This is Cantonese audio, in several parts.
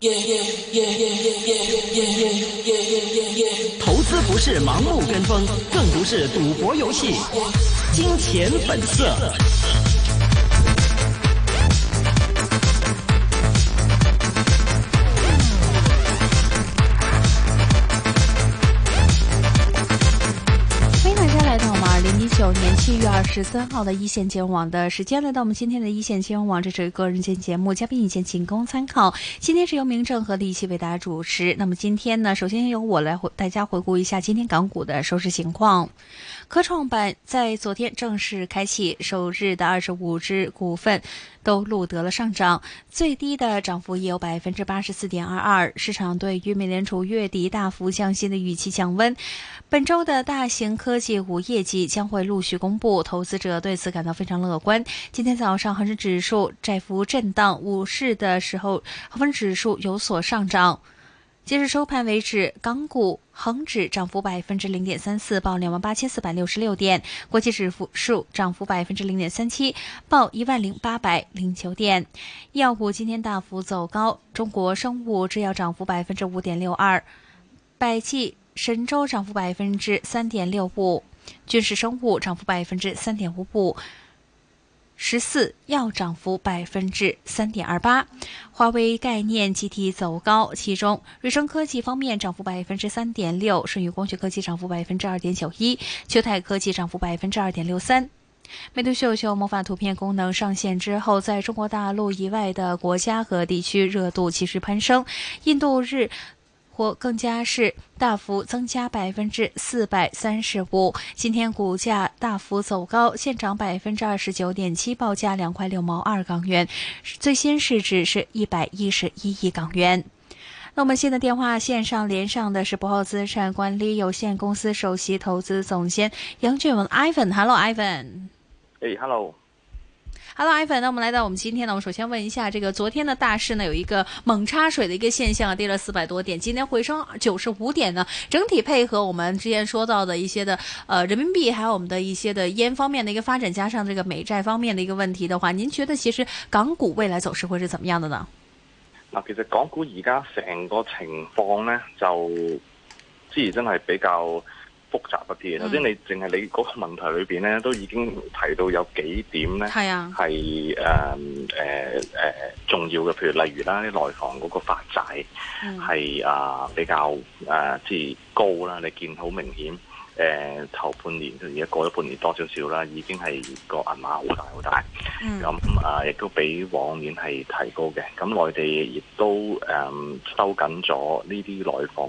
投资不是盲目跟风，更不是赌博游戏。金钱本色。 2019年7月23号的一线金融网的时间，来到我们今天的一线金融网，这是个人间节目，嘉宾意见仅供参考。今天是由明正和李琦为大家主持。那么今天呢，首先由我来大家回顾一下今天港股的收市情况。科创板在昨天正式开启，首日的25只股份都录得了上涨，最低的涨幅也有 84.22%。市场对于美联储月底大幅降息的预期降温。本周的大型科技股业绩将会陆续公布，投资者对此感到非常乐观。今天早上恒生指数窄幅震荡，午市的时候恒生指数有所上涨。截至收盘为止，港股恒指涨幅 0.34%， 报 28,466 点；国际指数涨幅 0.37%， 报 10,809 点。医药股今天大幅走高，中国生物制药涨幅 5.62%， 百济神州涨幅 3.65%， 军事生物涨幅 3.55%。14药涨幅 3.28%， 华为概念集体走高，其中瑞声科技方面涨幅 3.6%， 舜宇光学科技涨幅 2.91%， 秋泰科技涨幅 2.63%。美图秀秀魔法图片功能上线之后，在中国大陆以外的国家和地区热度持续攀升，印度日或更加是大幅增加 435%， 今天股价大幅走高，现涨 29.7%， 报价2块6毛2港元，最新市值是111亿港元。那我们现在电话线上连上的是博浩资产管理有限公司首席投资总监杨俊文 Ivan。Hello Ivan。Hello Ivan， 那我们来到我们今天呢，我们首先问一下，这个昨天的大市呢有一个猛插水的一个现象，跌了400多点，今天回升95点呢，整体配合我们之前说到的一些的人民币，还有我们的一些的烟方面的一个发展，加上这个美债方面的一个问题的话，您觉得其实港股未来走勢會是怎麼樣的呢？ 嗱，其實港股而家成個情況咧，就之前真係比較複雜一啲嘅。首先你淨係你嗰個問題裏邊咧，都已經提到有幾點咧，係重要嘅。譬如例如啦，啲內房嗰個發債係比較即係高啦，你見好明顯。頭半年而家過咗半年多少少啦，已經係個銀碼好大好大，咁亦都比往年係提高嘅。咁內地亦都收緊咗呢啲內房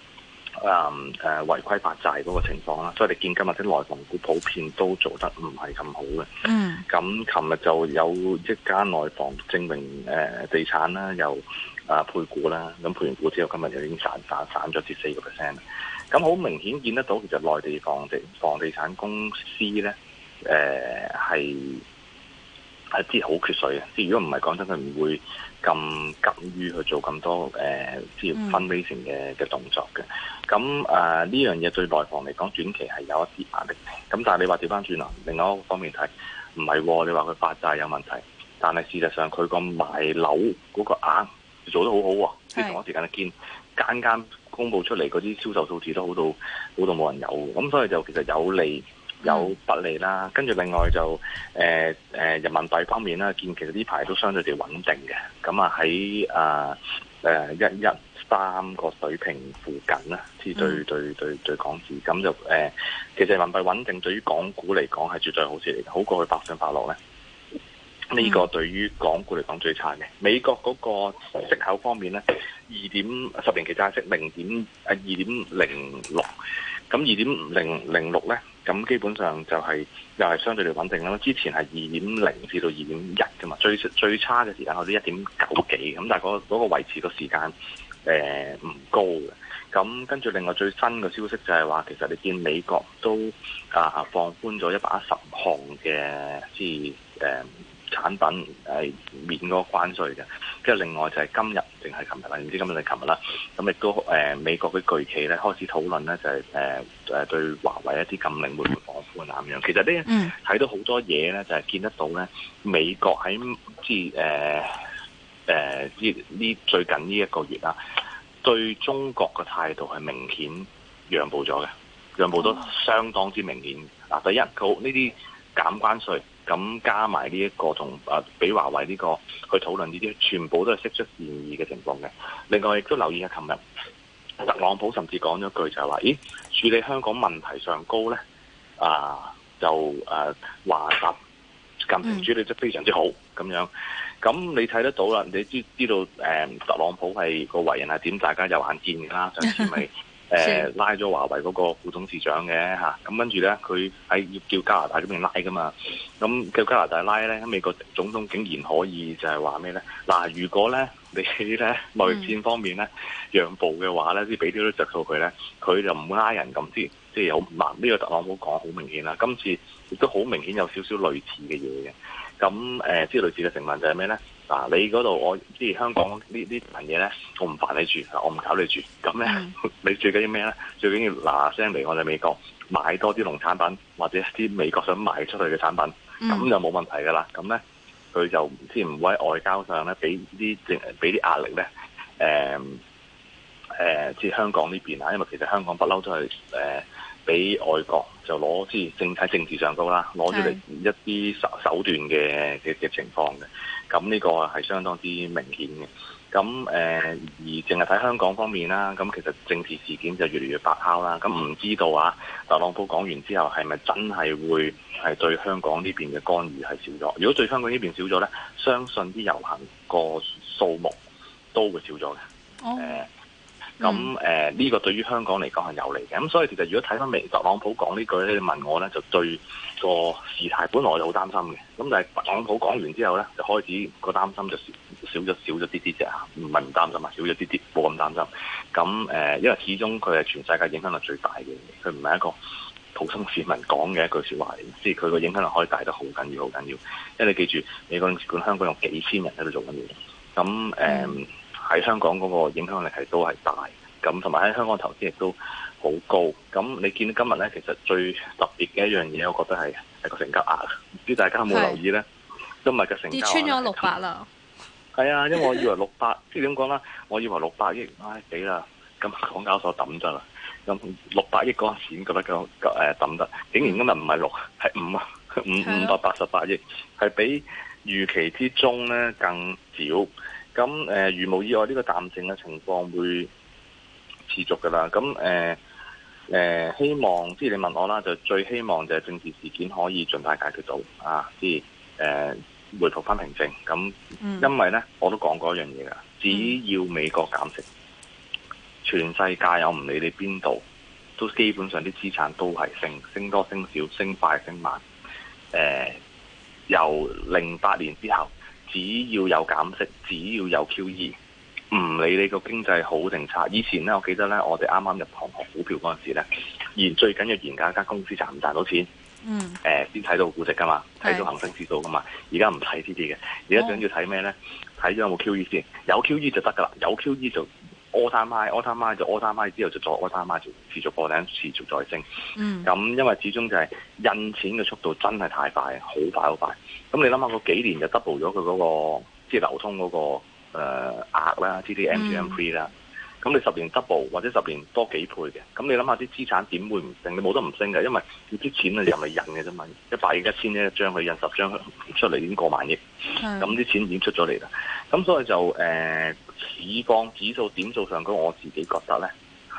違規發債嗰個情況啦，所以你見今日啲內房股普遍都做得唔係咁好嘅。咁琴日就有一間內房證明地產啦，又配股啦，咁配完股之後，今日就已經散咗至4%。咁好明顯見得到，其實內地房地產公司咧，係即係好缺水嘅。即係如果唔係講真，佢唔會咁急於去做咁多即係fundraising嘅動作嘅。咁呢樣嘢對內房嚟講，短期係有一啲壓力。咁但係你話調翻轉啦，另外一個方面睇，唔係喎，你話佢發債有問題，但係事實上佢個賣樓嗰個額做得好好喎。即係同一時間見間公佈出嚟嗰啲銷售數字都好到冇人有，咁所以就其實有利有不利啦。跟住另外就人民幣方面啦，見其實呢排都相對地穩定嘅，咁喺113個水平附近啦，即係對港紙，咁就其實人民幣穩定對於港股嚟講係絕對好事嚟嘅，好過去百上百落咧。呢個對於港股嚟講最差嘅。美國嗰個息口方面咧，10年期債息2.06，咁2.006咧，咁基本上就係又係相對地穩定啦。之前係2.0至到2.1㗎嘛，最差嘅時間有啲1.9幾，咁但係嗰個維持個時間唔高嘅。咁跟住另外最新嘅消息就係話，其實你見美國都放寬咗110項嘅即係產品免嗰個關稅嘅，跟住另外就係今日定係琴日啦，唔知今日定琴日啦。咁亦都美國嘅巨企咧開始討論咧，就係對華為一啲禁令會唔會放寬啊咁樣。其實呢睇到好多嘢咧，就係見得到咧，美國喺即係最近呢一個月啦，對中國嘅態度係明顯讓步咗嘅，讓步都相當之明顯。第一，佢呢啲減關稅，咁加埋呢一個同俾華為呢個去討論呢啲，全部都係釋出善意嘅情況嘅。另外亦都留意下，琴日特朗普甚至講咗句就係話：咦，處理香港問題上高咧，就話習近平處理得非常之好咁樣。咁你睇得到啦，你知道特朗普係個為人係點，大家有眼見㗎啦。上次咪拉咗華為嗰個副董事長嘅嚇，咁跟住咧佢喺要叫加拿大嗰邊拉㗎嘛，咁叫加拿大拉咧，美國總統竟然可以就係話咩咧？嗱，如果咧你咧貿易戰方面咧讓步嘅話咧，即係俾啲着數佢咧，佢就唔會拉人咁，即係有嗱呢個特朗普講好明顯啦。今次亦都好明顯有少少類似嘅嘢嘅。咁即係類似嘅成分就係咩咧？你嗰度我即係香港呢份嘢咧，我唔煩你住，我唔搞你住。咁咧，你最緊要咩咧？最緊要嗱聲嚟我哋美國買多啲農產品，或者啲美國想賣出去嘅產品，咁就冇問題噶啦。咁咧，佢就即係唔會喺外交上咧俾啲壓力咧。即係香港呢邊啊，因為其實香港不嬲都係俾外國就攞即係喺政治上高啦，攞咗嚟一啲手段嘅情況嘅。咁呢個係相當之明顯嘅。咁而淨係睇香港方面啦，咁其實政治事件就越嚟越白酵啦。咁唔知道特朗普講完之後係咪真係會係對香港呢邊嘅干預係少咗？如果對香港呢邊少咗咧，相信啲遊行個數目都會少咗嘅。呢個對於香港嚟講係有利嘅。咁所以其實如果睇翻特朗普講呢句咧，你問我咧就對個事態本來我就好擔心嘅。咁但係特朗普講完之後咧，就開始個擔心就少咗啲啫，唔係唔擔心啊，少咗啲，冇咁擔心。咁因為始終佢係全世界影響力最大嘅，佢唔係一個普通市民講嘅一句説話嚟，即係佢個影響力可以大得好緊要，好緊要。因為你記住，美國領事館香港有幾千人喺度做緊嘢，咁喺香港嗰個影響力係都係大，咁同埋喺香港投資亦都好高。咁你見到今日咧，其實最特別嘅一樣嘢，我覺得係個成交額。唔知大家有冇留意咧？今日嘅成交額跌穿咗600啦。 係啊，因為我以為600，即係點講啦？我以為600億，死啦！咁港交所抌咗啦。咁600億嗰陣時覺得抌得，竟然今日唔係6，係588億，係比預期之中咧更少。咁如無意外，呢個淡靜嘅情況會持續㗎啦。咁希望即係你問我啦，就最希望就係政治事件可以盡快解決到即係回復翻平靜。咁因為咧，我都講過一樣嘢㗎，只要美國減息，全世界我唔理你邊度，都基本上啲資產都係升多升少，升快升慢。由08年之後。只要有減息，只要有 QE， 唔理你個經濟好定差。以前咧，我記得咧，我哋啱啱入行學股票嗰陣時咧，最緊要研究一間公司賺唔賺到錢，先睇到估值噶嘛，睇到恒生指數噶嘛。而家唔睇呢啲嘅，而家最緊要睇咩咧？睇咗有冇 QE 先，有 QE 就得噶啦，有 QE 就all time high 就 all time high 之後就再 all time high 就持續破頂，持續再升。咁因為始終就係印錢嘅速度真係太快，好快好快。咁你諗下，個幾年就 double 咗佢嗰個即係流通嗰個額啦，TD/MGM3 啦。咁你10年 double 或者10年多幾倍嘅，咁你諗下啲資產點會唔升？你冇得唔升嘅，因為啲錢啊又咪印嘅啫嘛，100億1,000億一張，佢印10張出嚟已經過萬億，咁啲錢已經出咗嚟啦。咁所以就市況指數點數上高，我自己覺得咧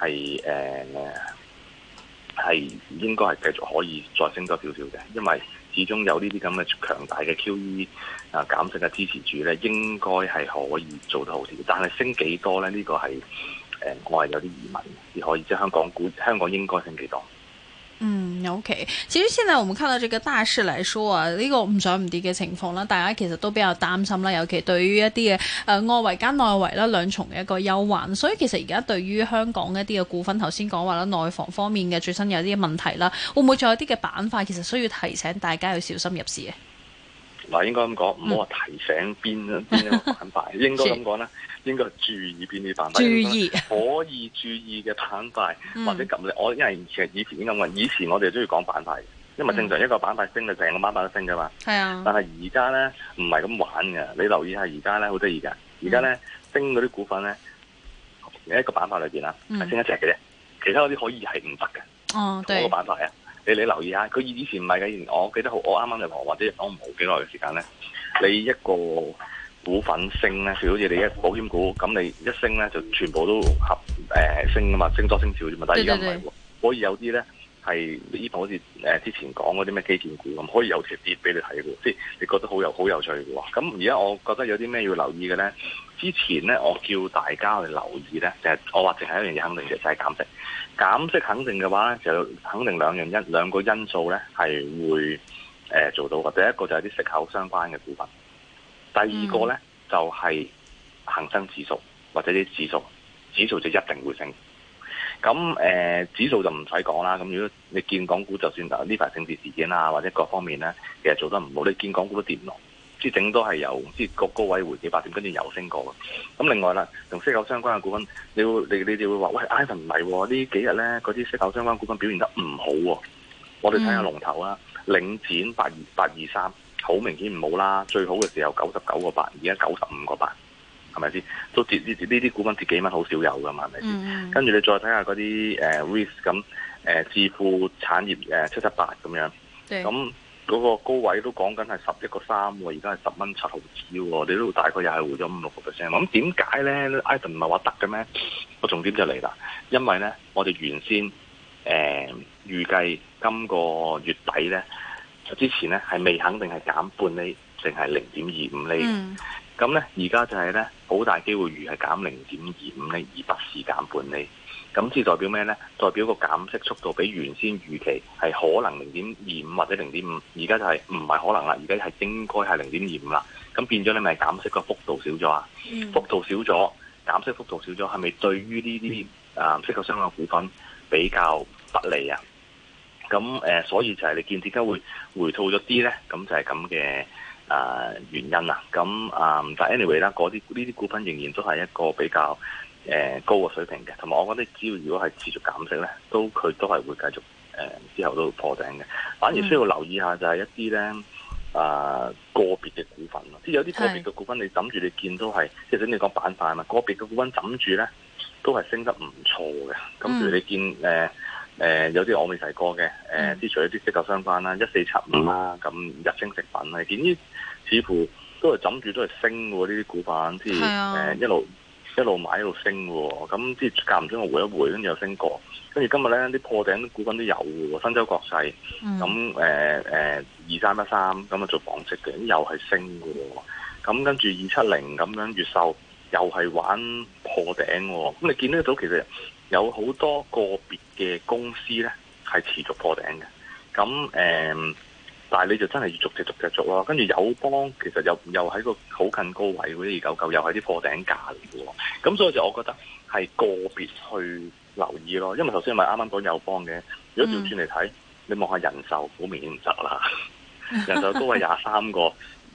係應該係繼續可以再升多少少嘅，因為始終有呢啲咁嘅強大嘅 QE 減息嘅支持住咧，應該係可以做得好啲。但係升幾多咧？呢個係我係有啲疑問，只可以即係香港應該升幾多 ？OK， 其實現在我們看到這個大勢來說啊，呢個唔上唔跌嘅情況啦，大家其實都比較擔心啦，尤其對於一啲嘅外圍加內圍啦兩重嘅一個憂患，所以其實而家對於香港一啲嘅股份，頭先講話啦，內房方面嘅最新有啲問題啦，會唔會再有啲嘅板塊其實需要提醒大家要小心入市嘅？ 嗱，應該咁講，唔好話提醒邊一個板塊，應該咁講啦。應該注意邊啲板塊，可以注意嘅板塊，或者咁我因為其實以前已經咁講，以前我哋都要講板塊，因為正常一個板塊升就成個板塊都升噶嘛。係啊。但係而家咧唔係咁玩嘅，你留意下而家咧好得意㗎。 而家咧升嗰啲股份咧，一個板塊裏邊啦，係升一隻嘅啫，其他嗰啲可以係唔得嘅。 哦， 同一個板塊啊，你留意下，佢以前唔係嘅，以前我記得好，我啱啱入行或者我唔好幾耐嘅時間咧，你一個股份升咧，譬如好似你一保險股，咁你一升咧就全部都升噶嘛，升多升少啫嘛。但係而家唔係喎，可以有啲咧係呢好似之前講嗰啲咩基建股咁，可以有條跌俾你睇嘅，即係你覺得好有趣嘅喎。咁而家我覺得有啲咩要留意嘅咧？之前咧我叫大家去留意咧，就係我話淨係一樣嘢肯定嘅，就係減息。減息肯定嘅話咧，就肯定兩個因素咧係會做到嘅。第一個就係啲息口相關嘅股份。第二個咧就係恒生指數或者啲指數就一定會升。咁指數就唔使講啦。咁如果你見港股就算呢排政治事件啊或者各方面咧，其實做得唔好，你見港股都跌唔落，即係整多係由即係個高位回幾百點，跟住又升過嘅。咁另外啦，同息口相關嘅股份，你哋會話喂，Ivan 唔係喎，呢幾日咧嗰啲息口相關股份表現得唔好喎。我哋睇下龍頭啦，領展823。好明顯唔好啦，最好嘅時候99個8，而家95個8，係咪先？都跌呢啲股份跌幾蚊，好少有噶嘛，係咪先？跟住你再睇下嗰啲REIT 咁置富產業778咁樣，咁嗰個高位都講緊係11個3喎，而家係10蚊7毫子喎，你都大概又係回咗5-6%。咁點解咧 ？Ivan 唔係話得嘅咩？個重點就嚟啦，因為咧我哋原先預計今個月底咧。之前咧係未肯定係減半厘定係0.25厘嘅，咁咧而家就係咧好大機會預係減0.25厘，而不是減半厘。咁即係代表咩咧？代表個減息速度比原先預期係可能0.25或者0.5，而家就係唔係可能啦，而家係應該係0.25啦。咁變咗你咪減息個幅度少咗啊？幅度少咗，減息幅度少咗，係咪對於呢啲息口相關嘅股份比較不利啊？咁所以就係你見點解會回吐咗啲咧？咁就係咁嘅原因啦。咁但 anyway 啦，呢啲股份仍然都係一個比較高嘅水平嘅。同埋我覺得只要如果係持續減息咧，佢都係會繼續之後都破頂嘅。反而需要留意下就係一啲咧個別嘅股份咯。即係有啲個別嘅股份你諗住你見都係，即係等你講板塊嘛，個別嘅股份諗住咧都係升得唔錯嘅。咁譬如你見有啲我未提過嘅，之除咗啲息口相關啦，1475啦，咁日清食品啦，見呢似乎都係枕住都係升喎，呢啲股份，即係一路買一路升喎，咁即係間唔中我回一回，跟住又升過，跟住今日咧啲破頂股份都有喎，新洲國際，咁2313咁啊做紡織嘅，又係升嘅喎，咁跟住270咁樣越秀又係玩破頂喎，咁你見得到其實有好多個別嘅公司咧係持續破頂嘅，咁但係你就真係要逐隻捉咯。跟住友邦其實又喺個好近高位嗰啲299，又係啲破頂價嚟嘅喎。咁所以就我覺得係個別去留意咯。因為頭先咪啱啱講友邦嘅，如果調轉嚟睇，你望下人壽好明顯唔得啦。人壽高位23個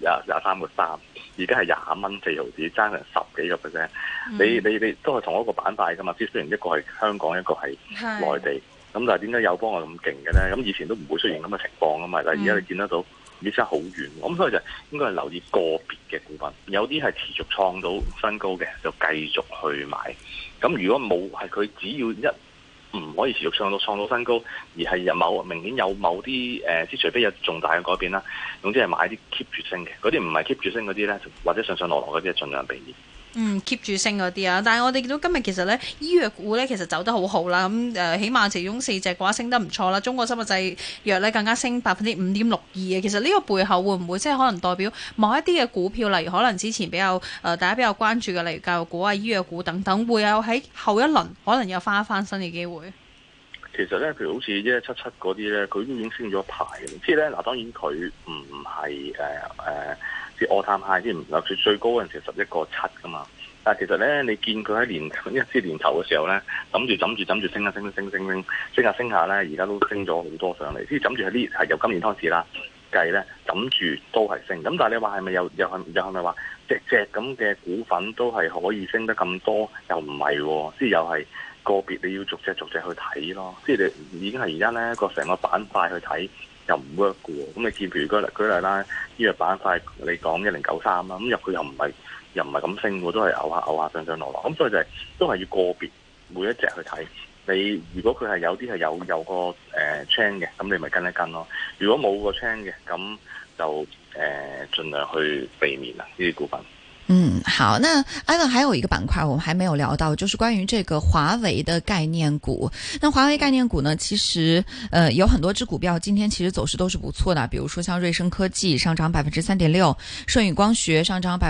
3，而家係20蚊4毫子，爭成10幾個%。你都係同一個板塊噶嘛？雖然一個係香港，一個係內地。咁但係點解友邦係咁勁嘅咧？咁以前都唔會出現咁嘅情況噶嘛。但係而家你見得到，已經好遠。咁所以就應該係留意個別嘅股份，有啲係持續創到新高嘅，就繼續去買。咁如果冇係佢，只要唔可以持續創到新高，而係明顯有某啲即除非有重大嘅改變啦，總之係買啲 keep 住升嘅，嗰啲唔係 keep 住升嗰啲咧，或者上落嗰啲，盡量避免。 keep 住升嗰啲啊，但係我哋見到今日其實咧，醫藥股咧其實走得好好啦，咁起碼其中4隻嘅話升得唔錯啦，中國生物製藥咧更加升5.62%啊。其實呢個背後會唔會即係可能代表某一啲嘅股票，例如可能之前比較大家比較關注嘅，例如教育股啊、醫藥股等等，會有喺後一輪可能有翻新嘅機會？ 其實咧，譬如好似1177嗰啲咧，佢都已經升咗一排嘅。即係咧，嗱當然佢唔係即係 all time high，即係最高嗰陣時11個7噶嘛。但係其實咧，你見佢喺年頭嘅時候咧，諗住升下咧，而家都升咗好多上嚟。即係諗住係由今年開始啦計咧，諗住都係升。咁但係你話係咪又係咪話隻咁嘅股份都係可以升得咁多？又唔係喎，即係又係。個別你要逐隻去睇咯，即係你已經係而家咧個成個板塊去睇又唔 work 嘅喎。咁你見譬如舉例啦，呢個板塊你講1093啦，咁入去又唔又唔係咁升喎，都係牛下上上落落。咁所以就係都係要個別每一隻去睇。你如果佢係有啲係有個chain 嘅，咁你咪跟一跟咯。如果冇個 chain 嘅，咁就盡量去避免啦呢啲股份。 好，那 Ivan 還有一個板塊我們還沒有聊到，就是關於這個華為的概念股。那華為概念股呢，其實有很多隻股票今天其實走勢都是不錯的，比如說像瑞聲科技上漲3.6%，舜宇光學上漲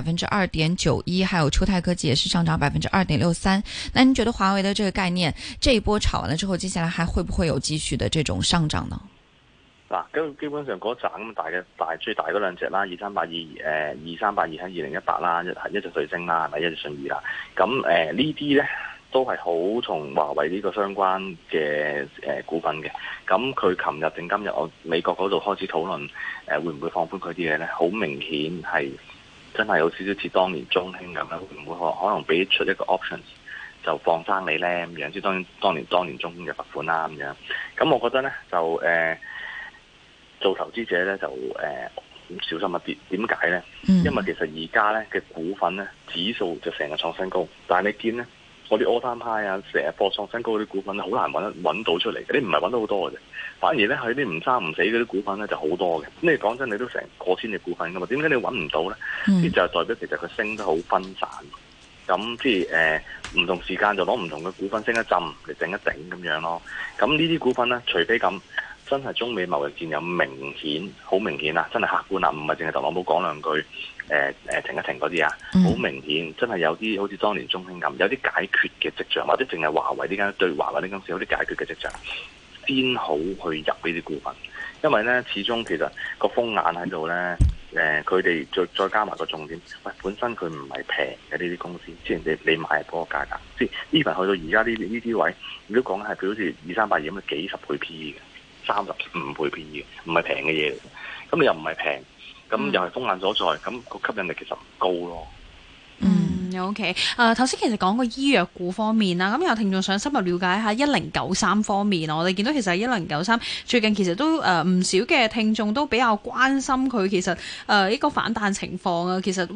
2.91%，還有秋泰科技也是上漲2.63%。那您覺得華為的這個概念這一波炒完了之後，接下來還會不會有繼續的這種上漲呢？ 嗱，咁基本上嗰扎咁最大嗰兩隻啦，2382喺2018啦，一隻瑞聲啦，係咪一隻舜宇啦？咁呢啲咧都係好同華為呢個相關嘅股份嘅。咁佢琴日定今日，我美國嗰度開始討論會唔會放寬佢啲嘢咧？好明顯係真係有少少似當年中興咁樣，會唔會可能俾出一個 options 就放生你咧咁樣？即係當年中興嘅罰款啦咁樣。咁我覺得咧就做投資者咧就小心一啲，點解咧？因為其實而家咧嘅股份咧指數就成日創新高，但係你見咧我啲 all time high 啊，成日破創新高嗰啲股份咧，好難揾到出嚟嘅，你唔係揾到好多嘅啫。反而咧喺啲唔生唔死嗰啲股份咧就好多嘅。咁你講真，你都成過千隻股份噶嘛？點解你揾唔到咧？呢就係代表其實佢升得好分散。咁即係唔同時間就攞唔同嘅股份升一浸嚟整一整咁樣咯。咁呢啲股份咧，除非咁。真係中美貿易戰有好明顯啊！真係客觀啊，唔係淨係特朗普講兩句停一停嗰啲啊，好明顯真係有啲好似當年中興咁，有啲解決嘅跡象，或者淨係華為呢間對華為呢間公司有啲解決嘅跡象，先好去入呢啲股份。因為咧，始終其實個風眼喺度咧，佢哋再加埋個重點，本身佢唔係平嘅呢啲公司，即係你買嗰個價格，即係 even 去到而家呢啲位，如果講係佢好似2382咁嘅幾十倍 PE 嘅。35倍 PE 嘅，唔係平嘅嘢嚟嘅。咁你又唔係平，咁又係風眼所在，咁個吸引力其實唔高咯。 OK。頭先其實講過醫藥股方面啦，咁有聽眾想深入了解一下1093方面，我哋見到其實1093最近其實都唔少嘅聽眾都比較關心佢其實一個反彈情況啊。其實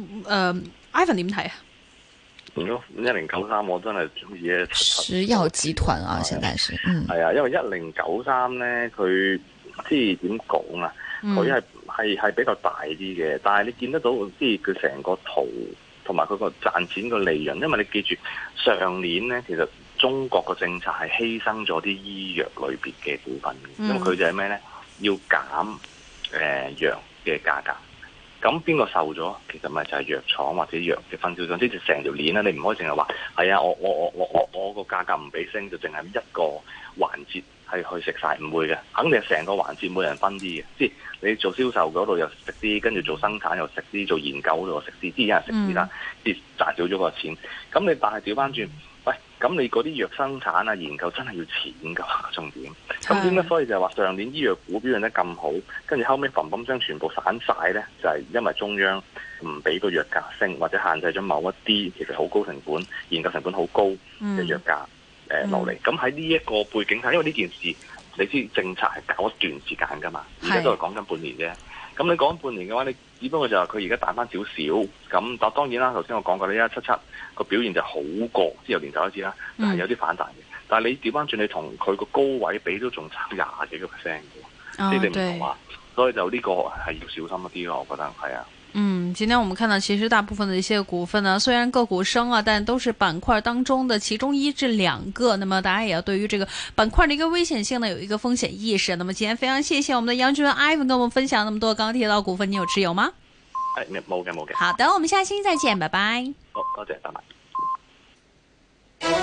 Ivan 點睇啊？ 如果1093我真係中意嘅石藥集團啊，現在是係啊，因為1093咧，佢即係點講啊？佢係比較大啲嘅，但係你見得到即係佢成個圖同埋佢個賺錢個利潤，因為你記住上年咧，其實中國個政策係犧牲咗啲醫藥類別嘅股份嘅，因為佢就係咩咧？要減藥嘅價格。咁邊個受咗？其實咪就係藥廠或者藥嘅分銷商，即係成條鏈啦。你唔可以淨係話係啊，我個價格唔俾升，就淨係一個環節係去食晒，唔會嘅。肯定係成個環節每人分啲嘅。即係你做銷售嗰度又食啲，跟住做生產又食啲，做研究嗰度又食啲，啲人食啲啦，即係賺少咗個錢。咁你但係調翻轉，喂，咁你嗰啲藥生產啊研究真係要錢㗎，重點。咁點解所以就係話上年醫藥股表現得咁好，跟住後尾砰聲全部散晒咧，就係因為中央唔俾個藥價升，或者限制咗某一啲其實好高成本、研究成本好高嘅藥價落嚟。咁喺呢一個背景下，因為呢件事你知政策係搞一段時間㗎嘛，而家都係講緊半年啫。咁你講半年嘅話，你只不過就係佢而家彈翻少少。咁但當然啦，頭先我講過呢，1177個表現就好過，即係由年頭開始啦，就係有啲反彈嘅。但係你調翻轉，你同佢個高位比都仲差20幾個 percent 嘅，即係你唔同話，所以就呢個係要小心一啲咯。我覺得係啊。 今天我們看到其實大部分的一些股份呢，雖然個股升啊，但都是板塊當中的其中1至2個。那麼大家也要對於這個板塊的一個危險性呢，有一個風險意識。那麼今天非常謝謝我們的楊俊文 Ivan 跟我們分享那麼多。剛剛提到股份，你有持有嗎？ 冇嘅。 好的，我們下期再見，拜拜。 好，多謝，拜拜。